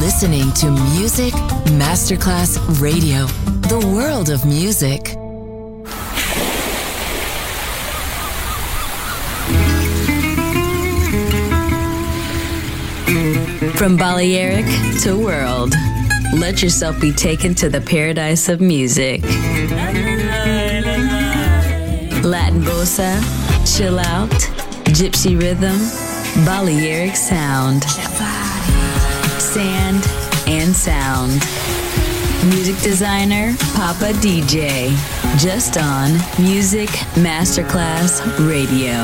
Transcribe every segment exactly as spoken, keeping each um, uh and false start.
listening to Music Masterclass Radio, the world of music. From Balearic to world, let yourself be taken to the paradise of music. Latin bossa, chill out, gypsy rhythm, Balearic sound, sand and sound. Music designer, Papa D J, just on Music Masterclass Radio.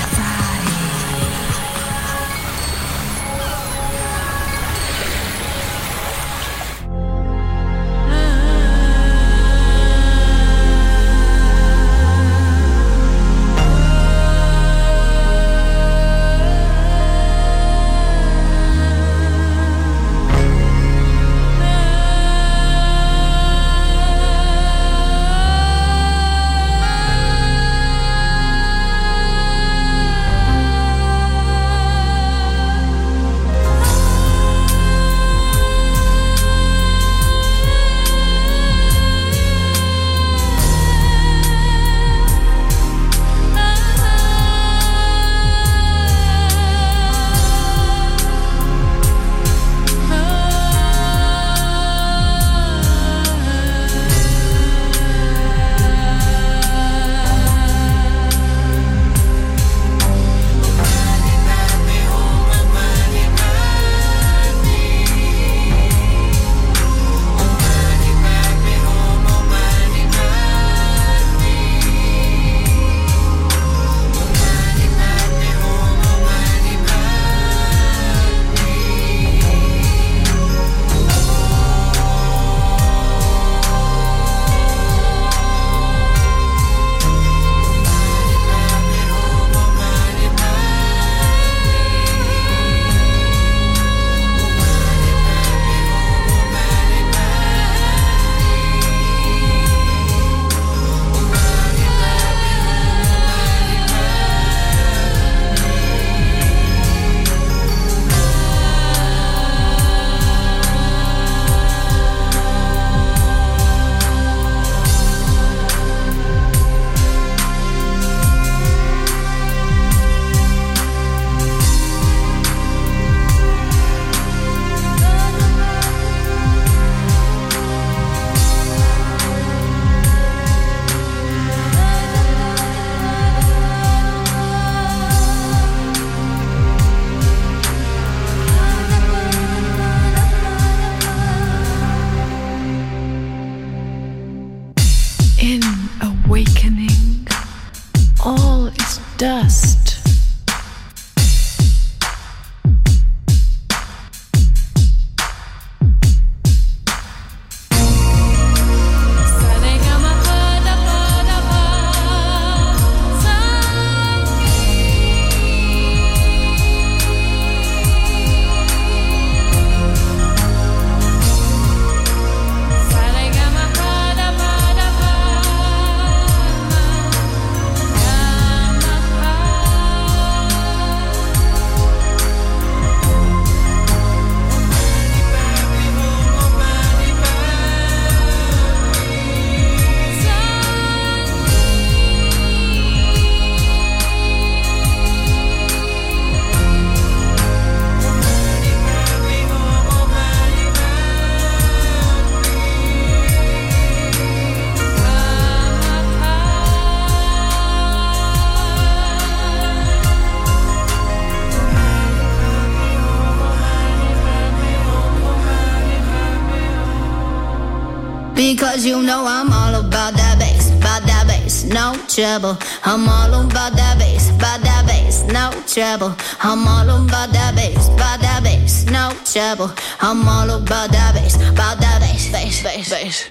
Because you know I'm all about that bass, about that bass, no trouble. I'm all about that bass, about that bass, no trouble. I'm all about that bass, about that bass, no trouble. I'm all about that bass, about that bass, bass, bass, bass.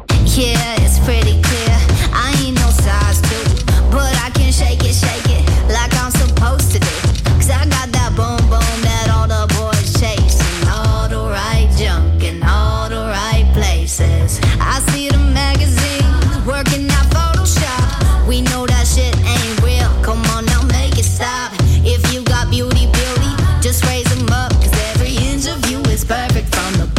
Yeah, it's pretty clear. I ain't no size two, but I can shake it, shake it like I'm supposed to do. Cause I got that boom boom that all the boys chasing, all the right junk in all the right places. I see the magazines working out Photoshop. We know that shit ain't real. Come on now, make it stop. If you got beauty, beauty, just raise them up. Cause every inch of you is perfect from the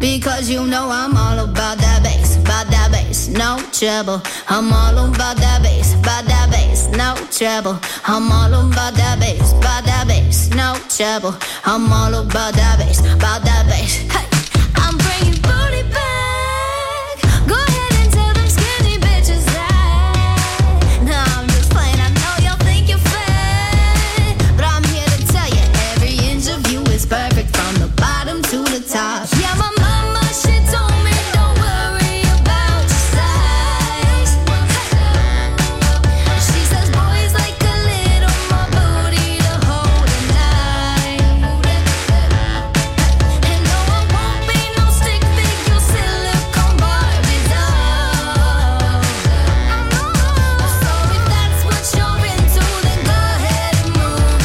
Because you know I'm all about that bass, about that bass, no trouble. I'm all about that bass, about that bass, no trouble. I'm all about that bass, about that bass, no trouble. I'm all about that bass, about that bass. Hey, I'm bringing booty back. Go ahead and tell them skinny bitches that. No, I'm just playing. I know y'all think you're fat, but I'm here to tell you every inch of you is perfect from the bottom to the top. Yeah, my she told me don't worry about your size. She says boys like a little more booty to hold at night. And no, I won't be no stick figure silicone Barbie doll. So if that's what you're into, then go ahead and move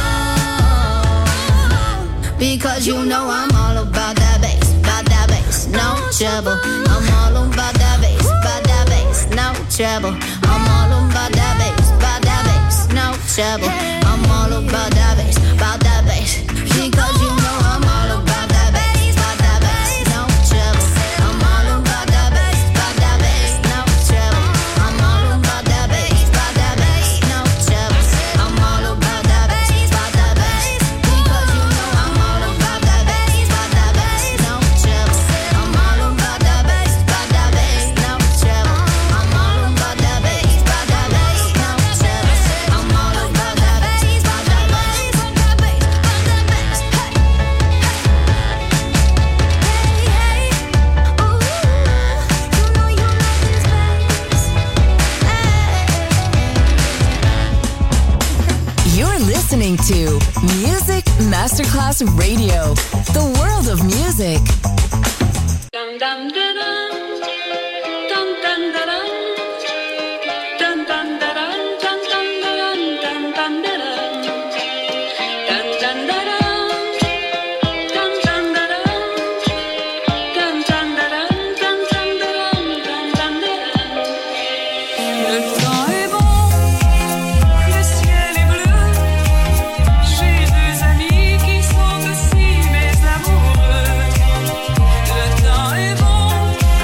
along. Because you know I'm all about that bass, no trouble. I'm all about that bass, about that bass, no trouble. I'm all about that bass, about that bass, no trouble. I'm all about that bass, about that bass. Because you know I'm all about that bass, about that bass, no trouble. I'm all about that bass, about that bass, no trouble. I'm all about that bass, about that bass, no trouble. I'm all about that bass, about that bass. Because you know I'm all about that bass, about that bass, no trouble. I'm all about that bass, about that bass, no trouble. I'm all about that bass, about that bass, no trouble. I'm all about that bass, about that bass, about that bass, about that bass. Hey, hey, hey, ooh, you know you love this bass. Hey. You're listening to Music Masterclass Radio, the world of music. Dum dum da dum, dum dum da dum, dum dum da dum, dum dum da dum, dum dum da dum, dum dum da dum, dum dum da dum, dum dum da dum, dum dum da dum, dum dum da dum. Le temps est bon, le ciel est bleu. J'ai deux amis qui sont aussi mes amoureux. Le temps est bon.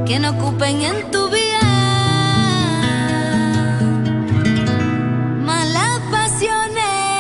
que no ocupen en tu vida malas pasiones.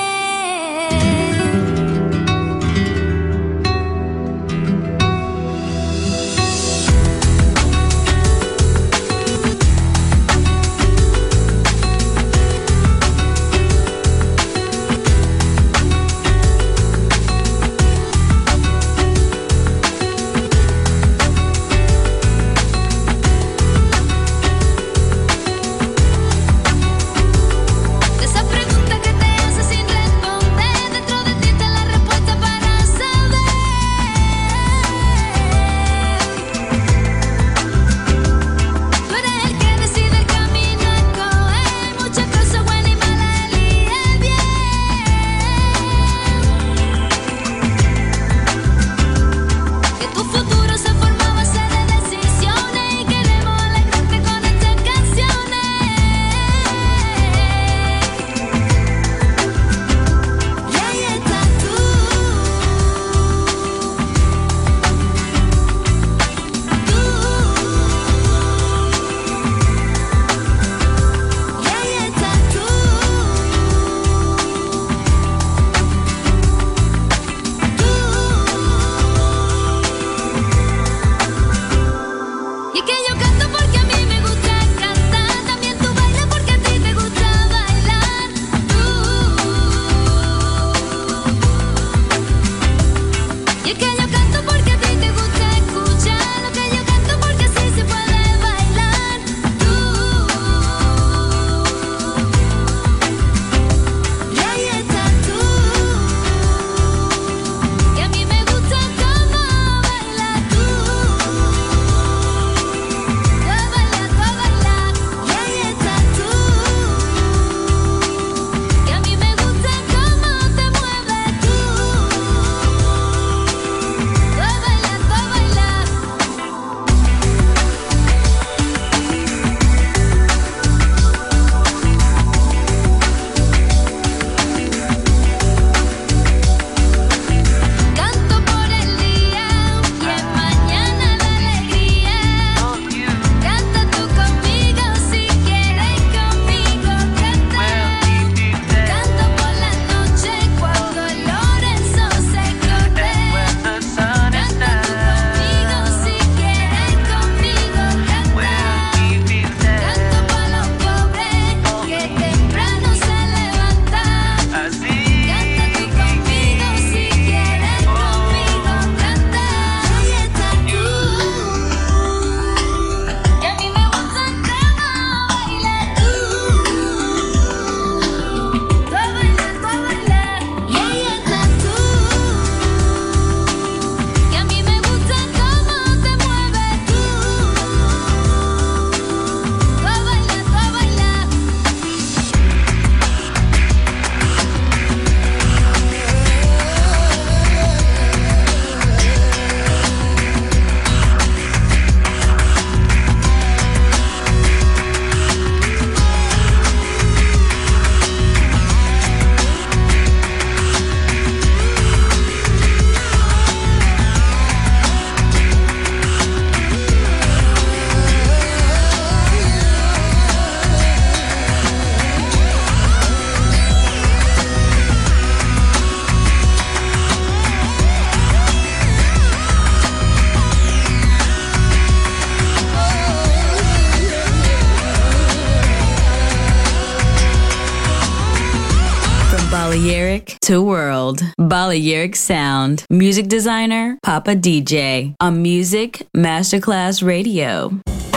Balearic to World. Balearic Sound. Music designer, Papa D J. On Music Masterclass Radio.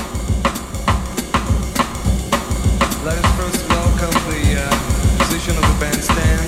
Let us first welcome the uh, musician of the bandstand.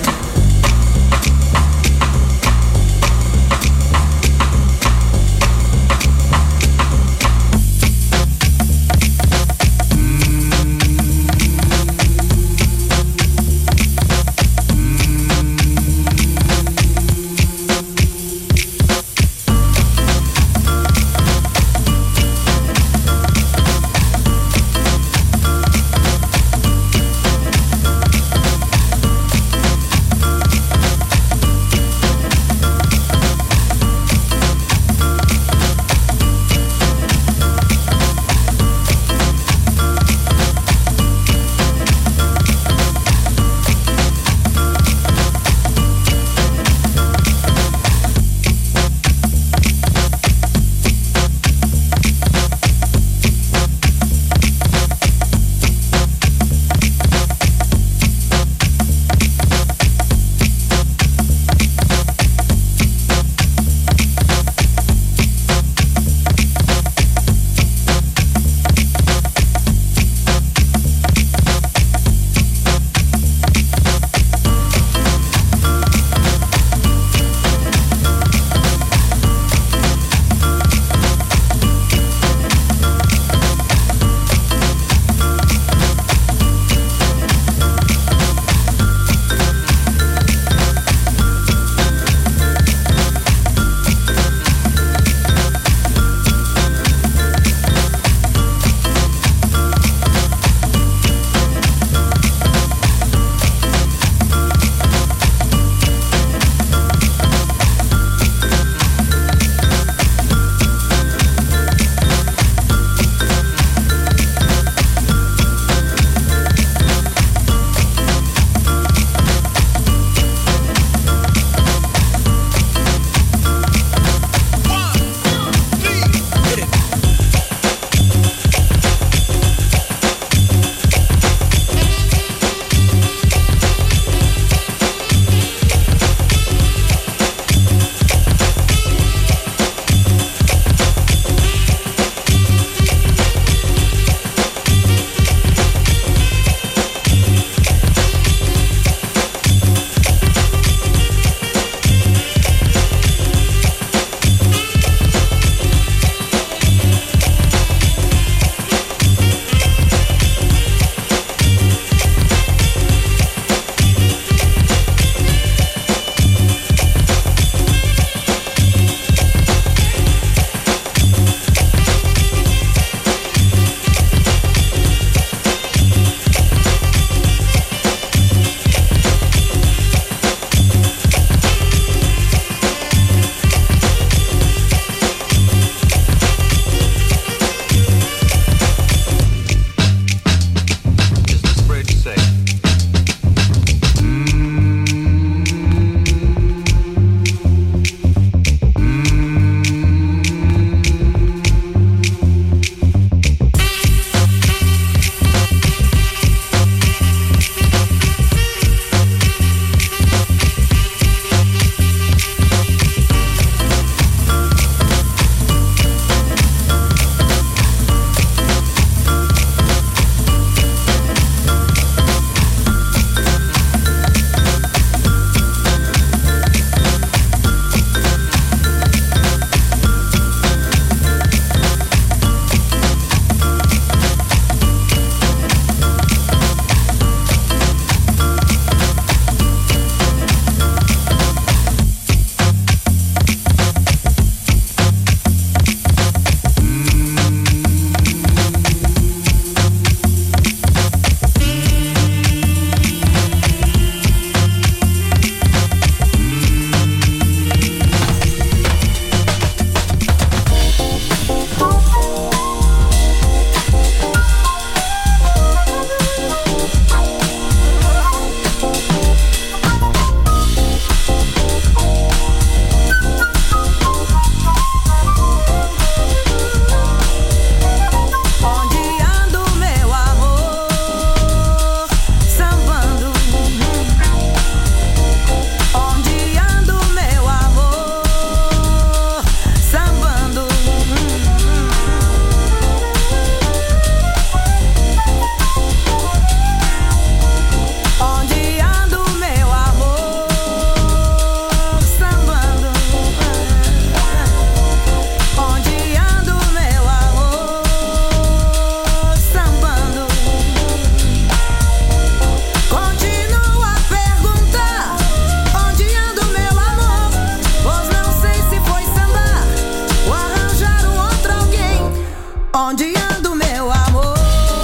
Onde ando, meu amor?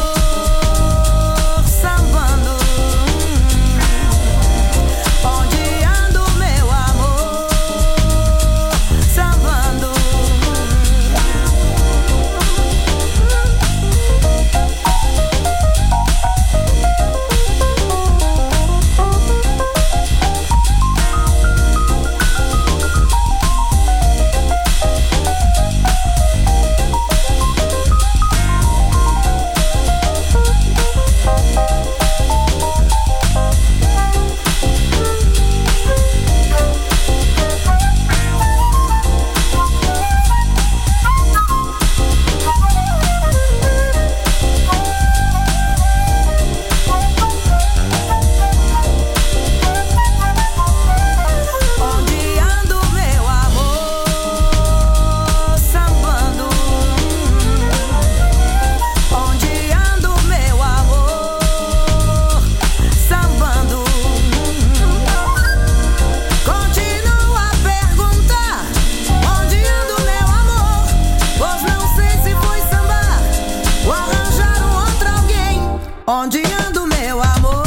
Sambando. Onde ando, meu amor? Sambando. Onde ando, meu amor?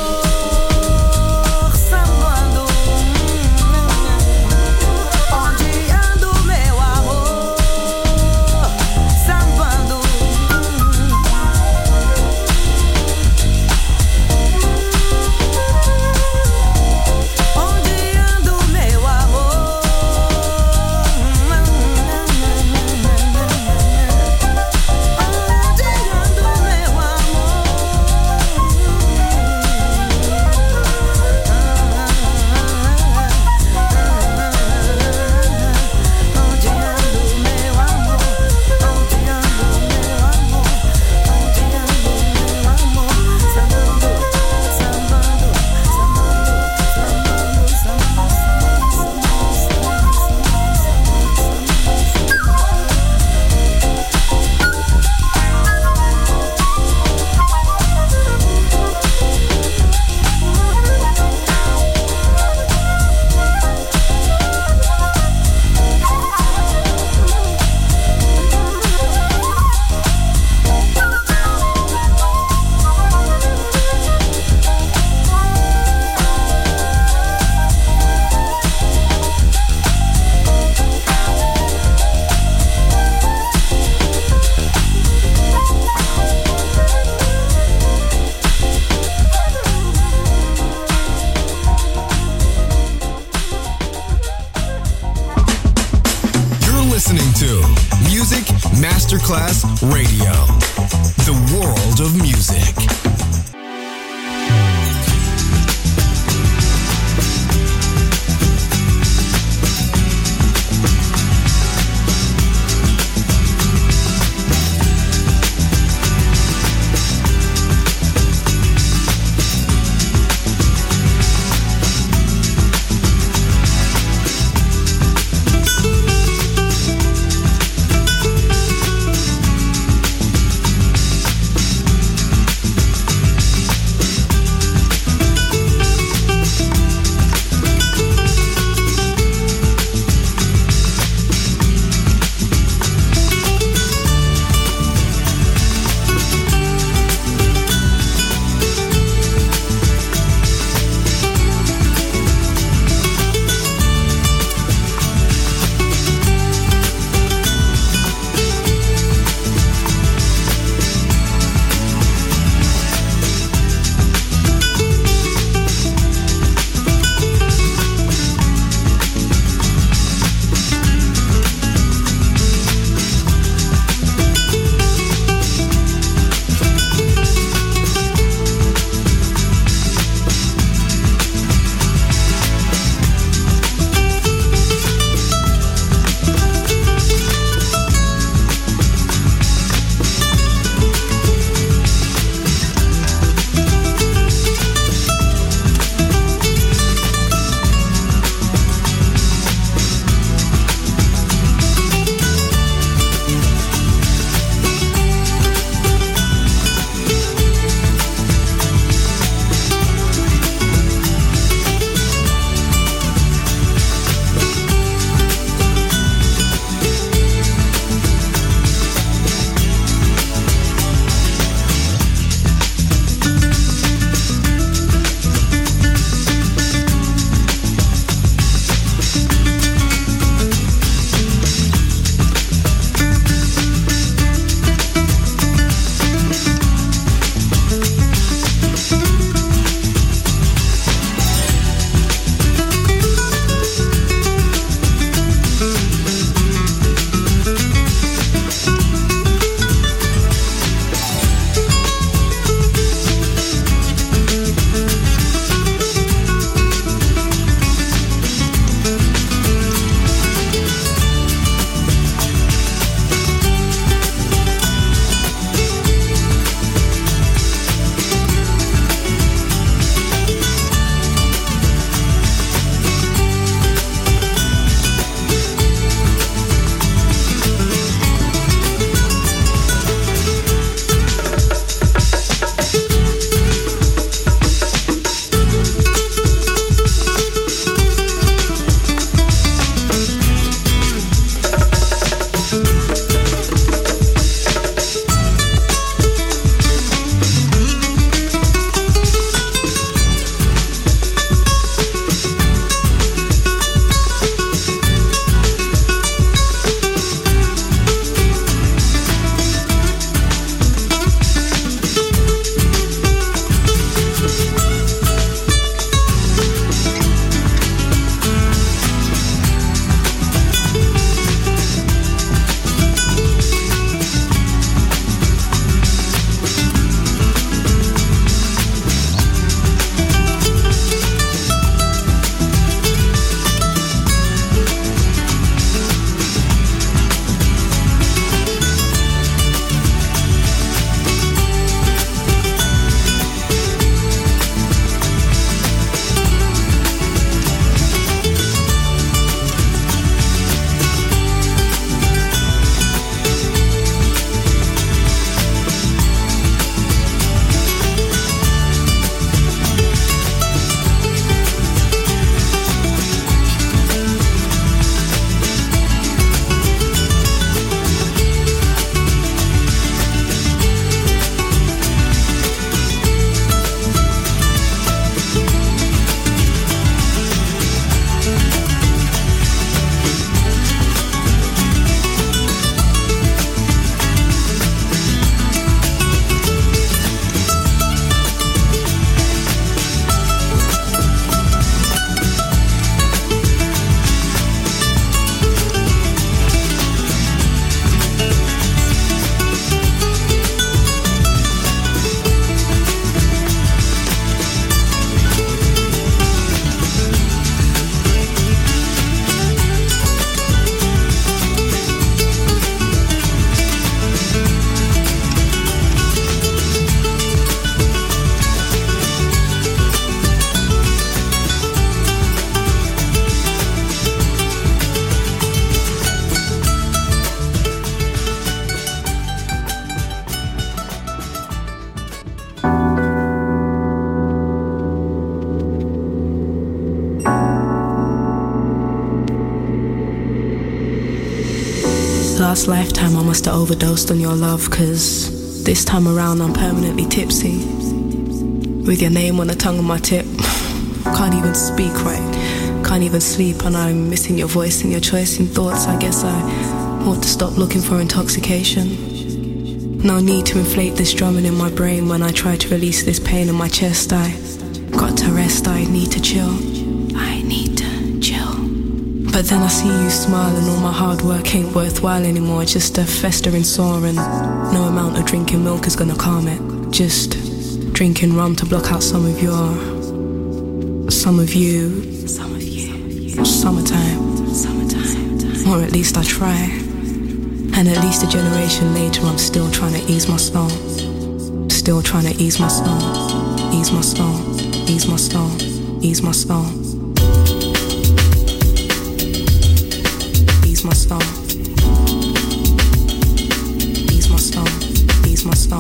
Sambando. Onde ando, meu amor? Sambando. Onde ando, meu amor? Listening to Music Masterclass Radio, the world of music. Last lifetime I must have overdosed on your love, cause this time around I'm permanently tipsy. With your name on the tongue of my tip. Can't even speak right, can't even sleep, and I'm missing your voice and your choice in thoughts. I guess I ought to stop looking for intoxication. No need to inflate this drumming in my brain. When I try to release this pain in my chest, I got to rest, I need to chill. I need to chill. But then I see you smile and all my hard work ain't worthwhile anymore. Just a festering sore, and no amount of drinking milk is gonna calm it. Just drinking rum to block out some of your, some of you, some of you, summertime, summertime, or at least I try. And at least a generation later I'm still trying to ease my soul. Still trying to ease my soul. Ease my soul. Ease my soul. Ease my soul. Ease my soul. Ease my soul. Ease my soul.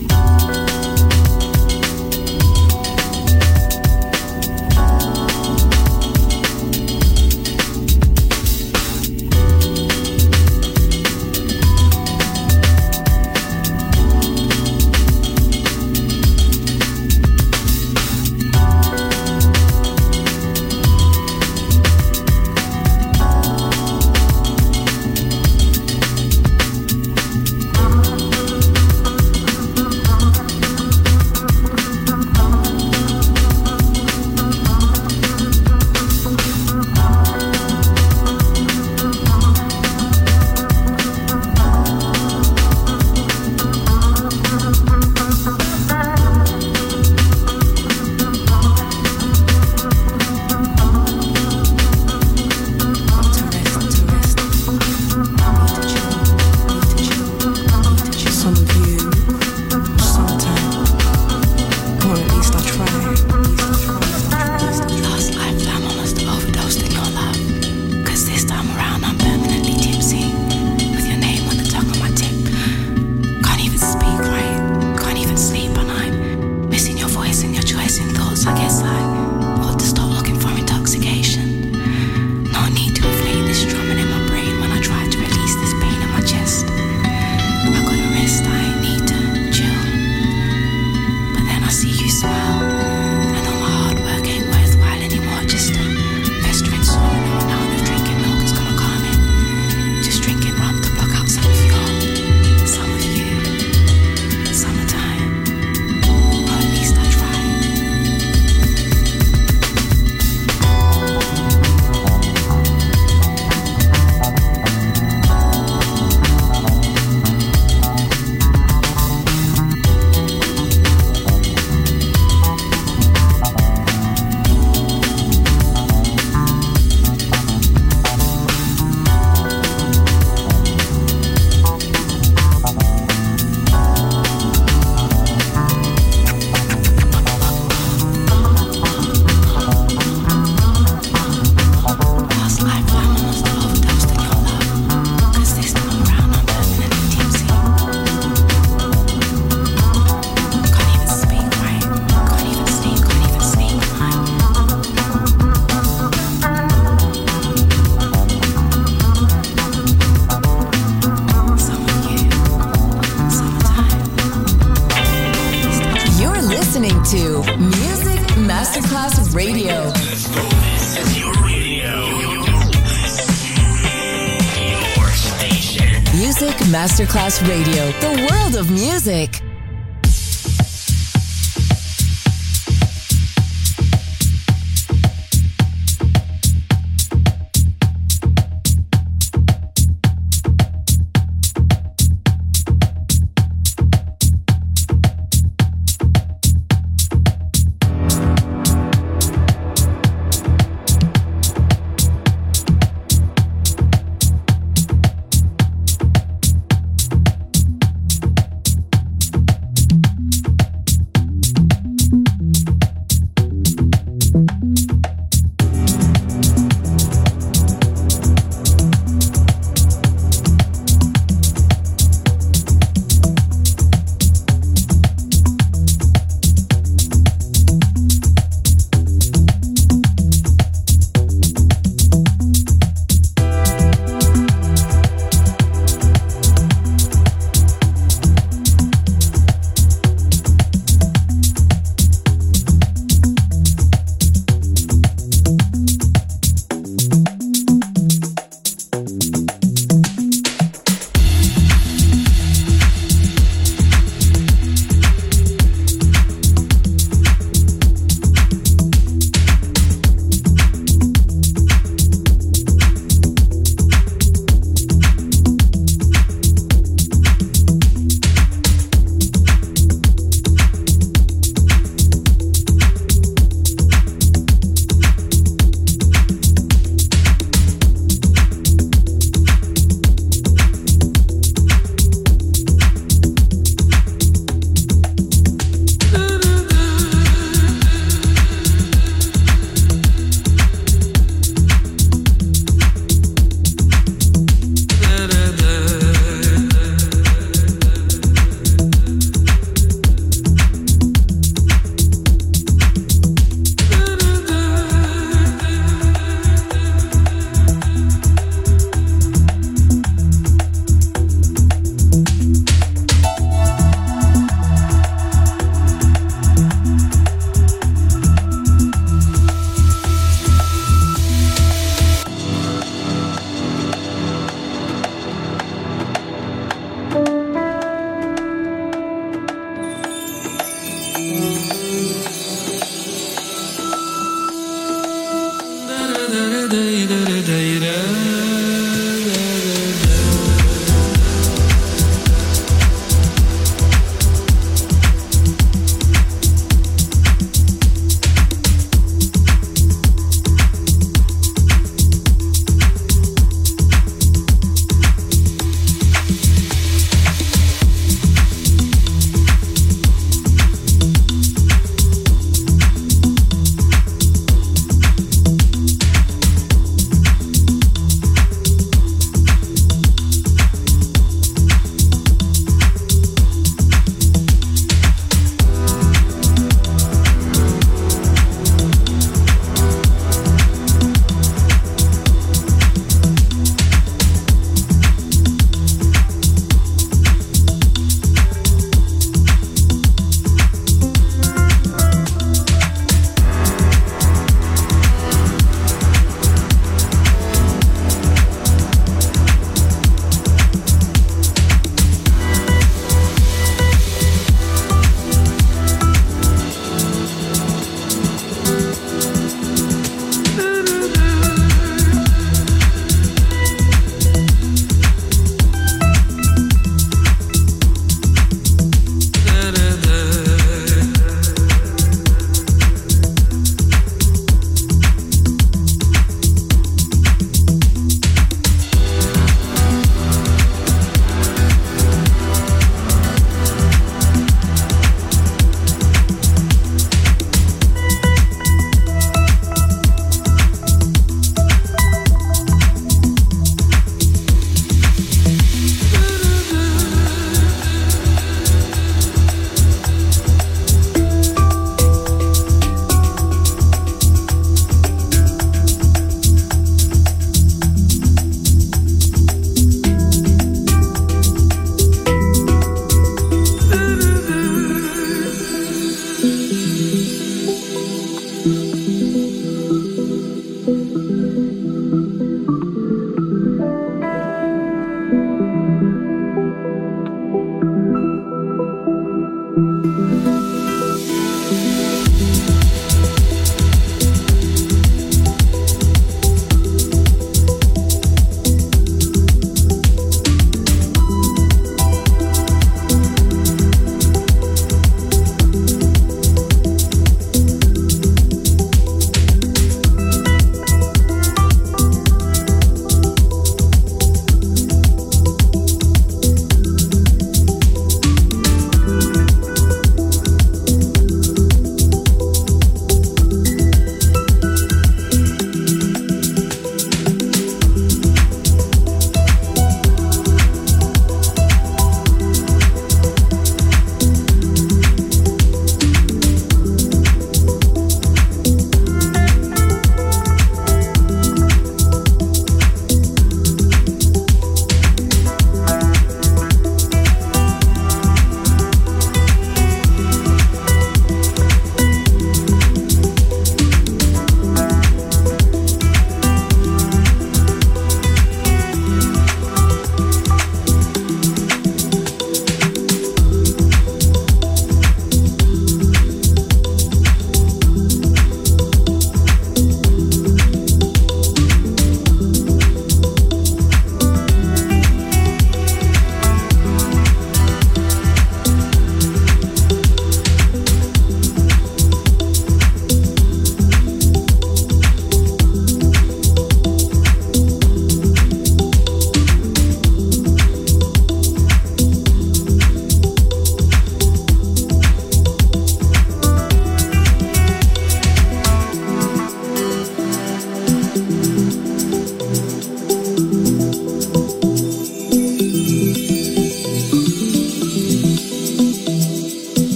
Masterclass Radio, the world of music.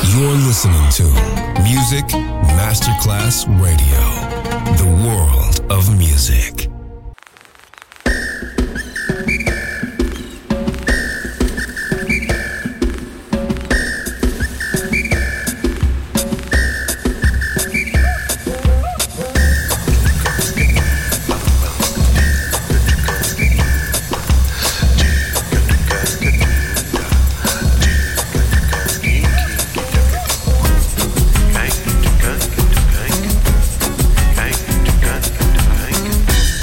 You're listening to Music Masterclass Radio, the world of music. Gang,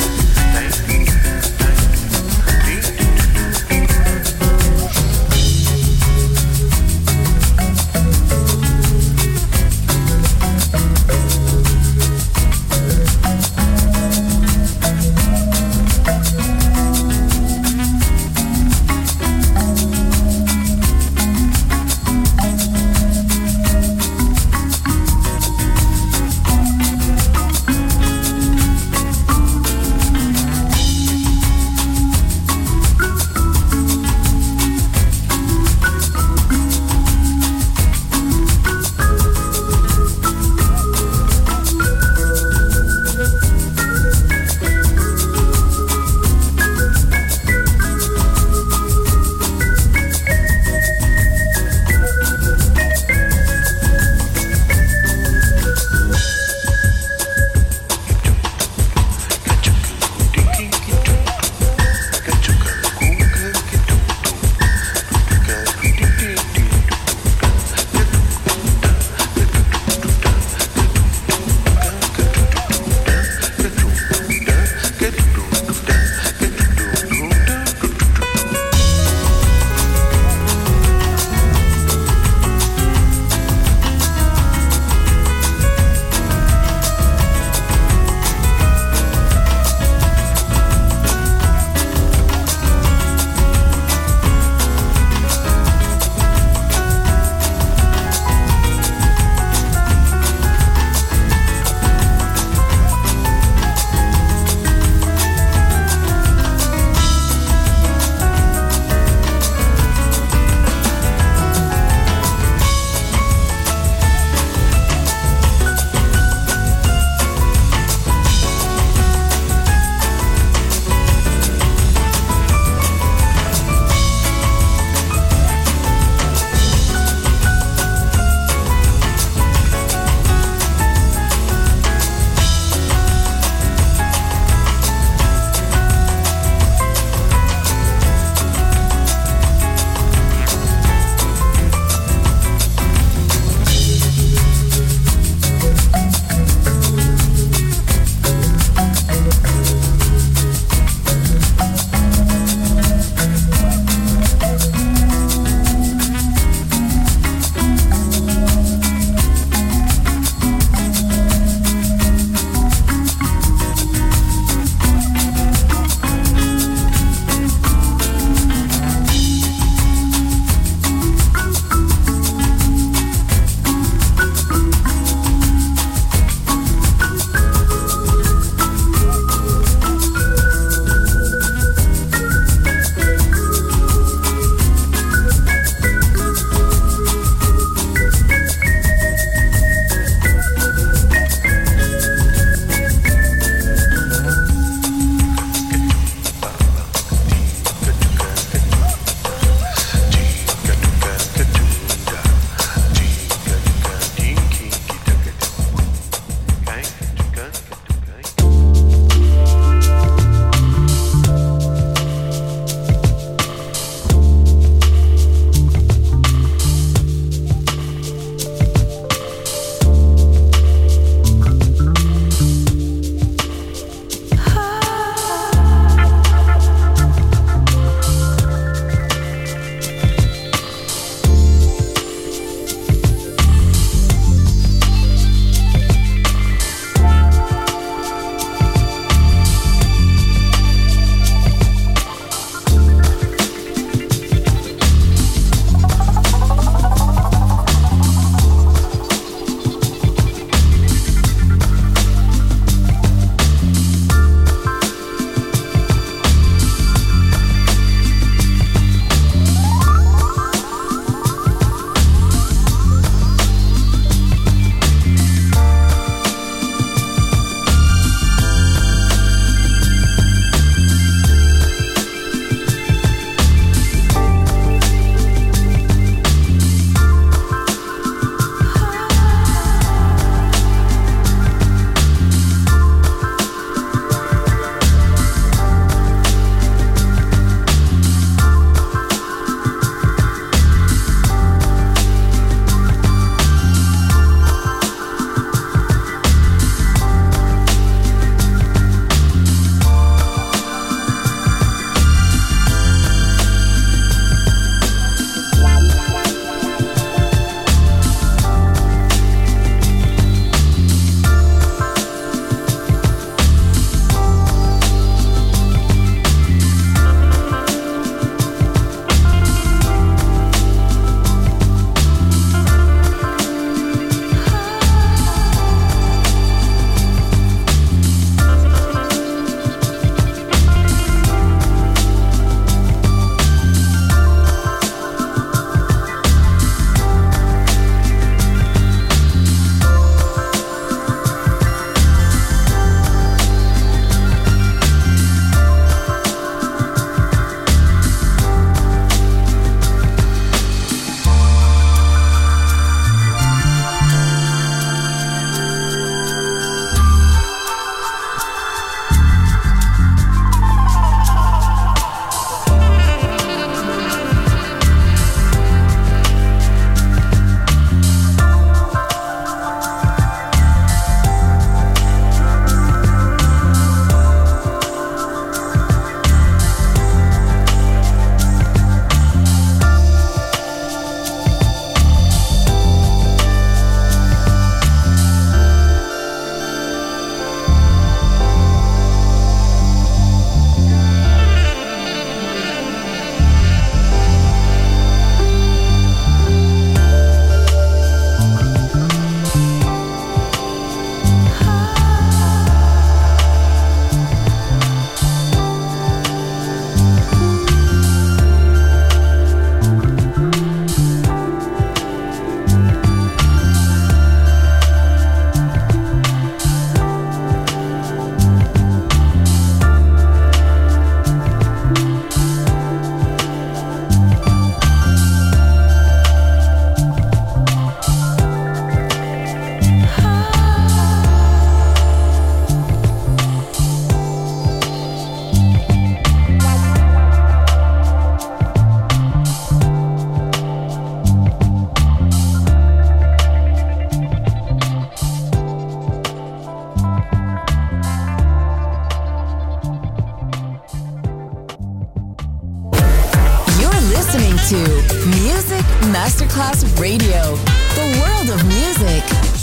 Music Masterclass Radio, the world of music.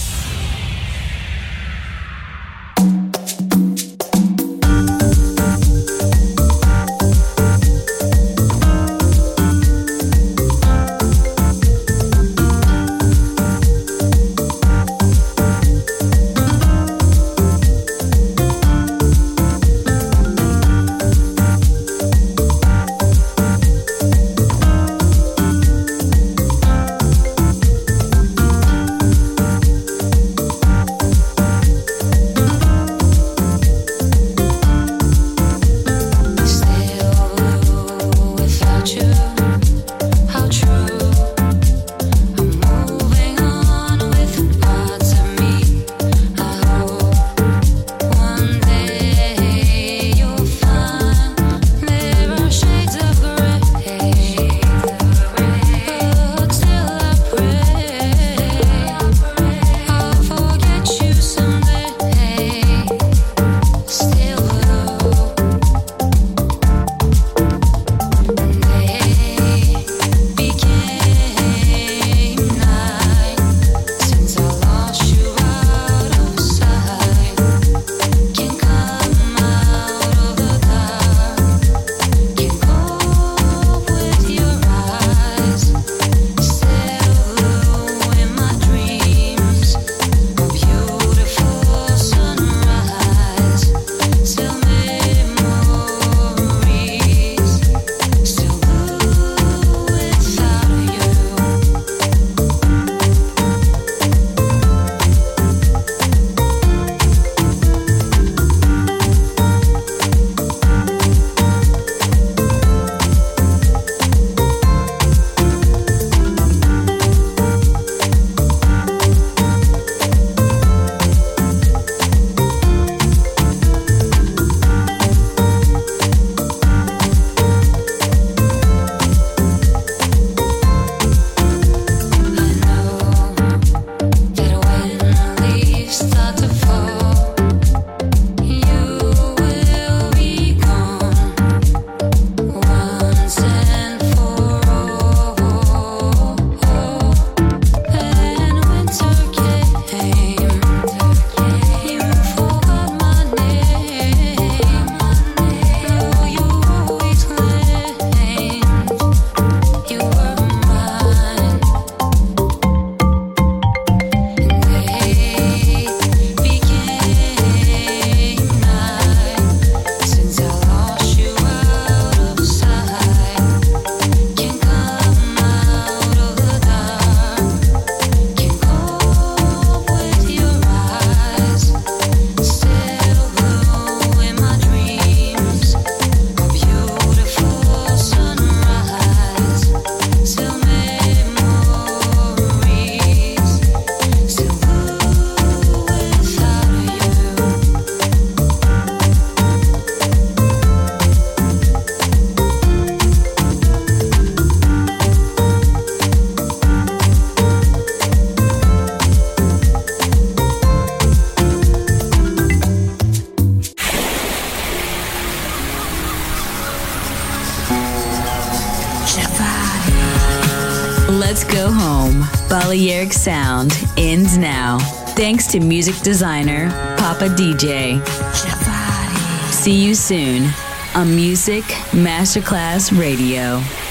Let's go home. Balearic Sound ends now. Thanks to music designer Papa D J. See you soon on Music Masterclass Radio.